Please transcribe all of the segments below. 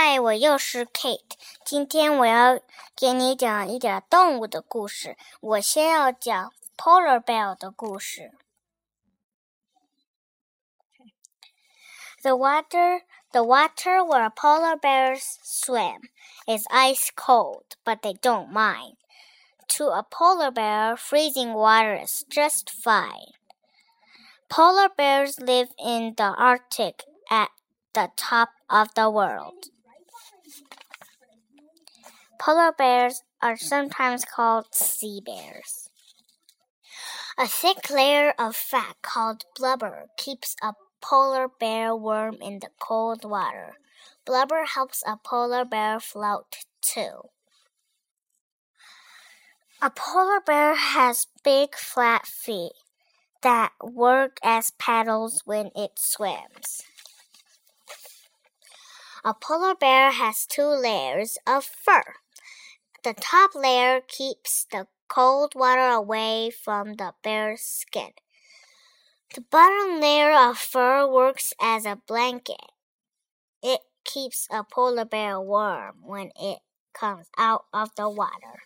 嗨，我又是 Kate。今天我要给你讲一点动物的故事。我先要讲 Polar Bear 的故事。The water where polar bears swim is ice cold, but they don't mind. To a polar bear, freezing water is just fine. Polar bears live in the Arctic at the top of the world. Polar bears are sometimes called sea bears. A thick layer of fat called blubber keeps a polar bear warm in the cold water. Blubber helps a polar bear float too. A polar bear has big flat feet that work as paddles when it swims. A polar bear has 2 layers of fur. The top layer keeps the cold water away from the bear's skin. The bottom layer of fur works as a blanket. It keeps a polar bear warm when it comes out of the water.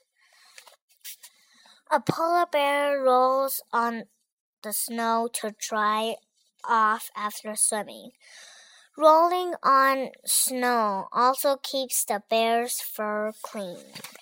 A polar bear rolls on the snow to dry off after swimming. Rolling on snow also keeps the bear's fur clean.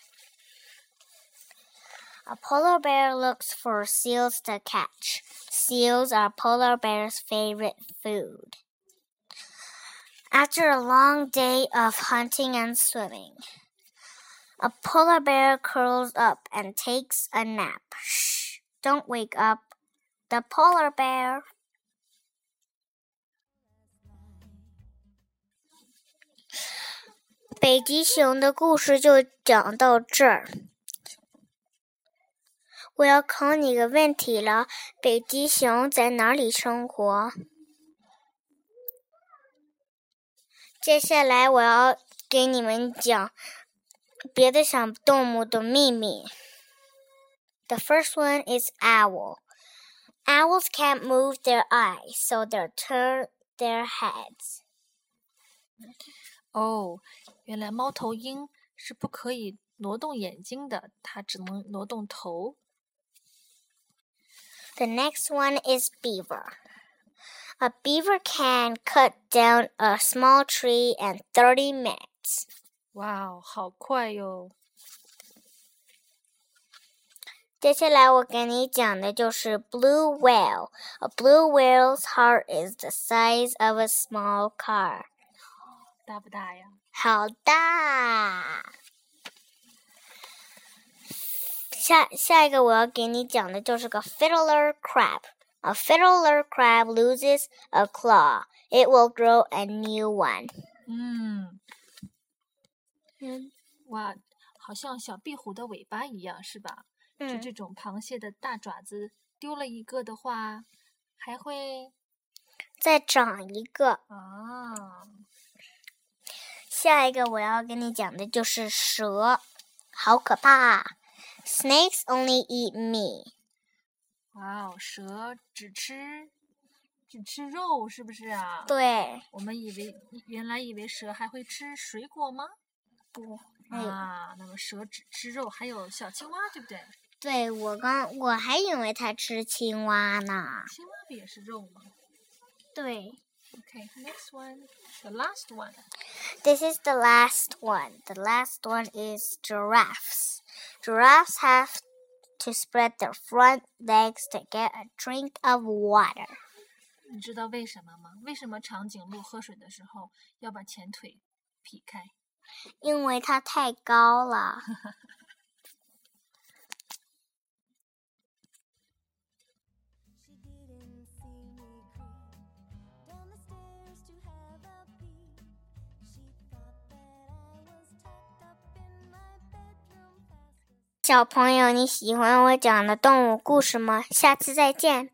A polar bear looks for seals to catch. Seals are polar bear's favorite food. After a long day of hunting and swimming, a polar bear curls up and takes a nap. Shh! Don't wake up the polar bear. 北极熊的故事就讲到这儿。我要考你个问题了，北极熊在哪里生活？接下来我要给你们讲别的小动物的秘密。The first one is owl. Owls can't move their eyes, so they turn their heads. 哦，原来猫头鹰是不可以挪动眼睛的，它只能挪动头。 The next one is beaver. A beaver can cut down a small tree in 30 minutes. 哇哦，好快哟！ 接下来我给你讲的就是 blue whale. A blue whale's heart is the size of a small car. 大不大呀？ 好大！下一个我要给你讲的就是个 fiddler crab. A fiddler crab loses a claw. It will grow a new one. 哇，好像小壁虎的尾巴一样，是吧？就这种螃蟹的大爪子丢了一个的话，还会再长一个。下一个我要跟你讲的就是蛇，好可怕。Snakes only eat meat. 哇哦，蛇只吃肉，是不是啊？ 对。 我们原来以为蛇还会吃水果吗？ 不。 那么蛇只吃肉，还有小青蛙，对不对？ 对，我还以为它吃青蛙呢。 青蛙不也是肉吗？ 对。 Okay, next one, the last one. This is the last one. The last one is giraffes. Giraffes have to spread their front legs to get a drink of water. 你知道为什么吗？为什么长颈鹿喝水的时候要把前腿劈开？ 因为它太高了。小朋友，你喜欢我讲的动物故事吗？下次再见。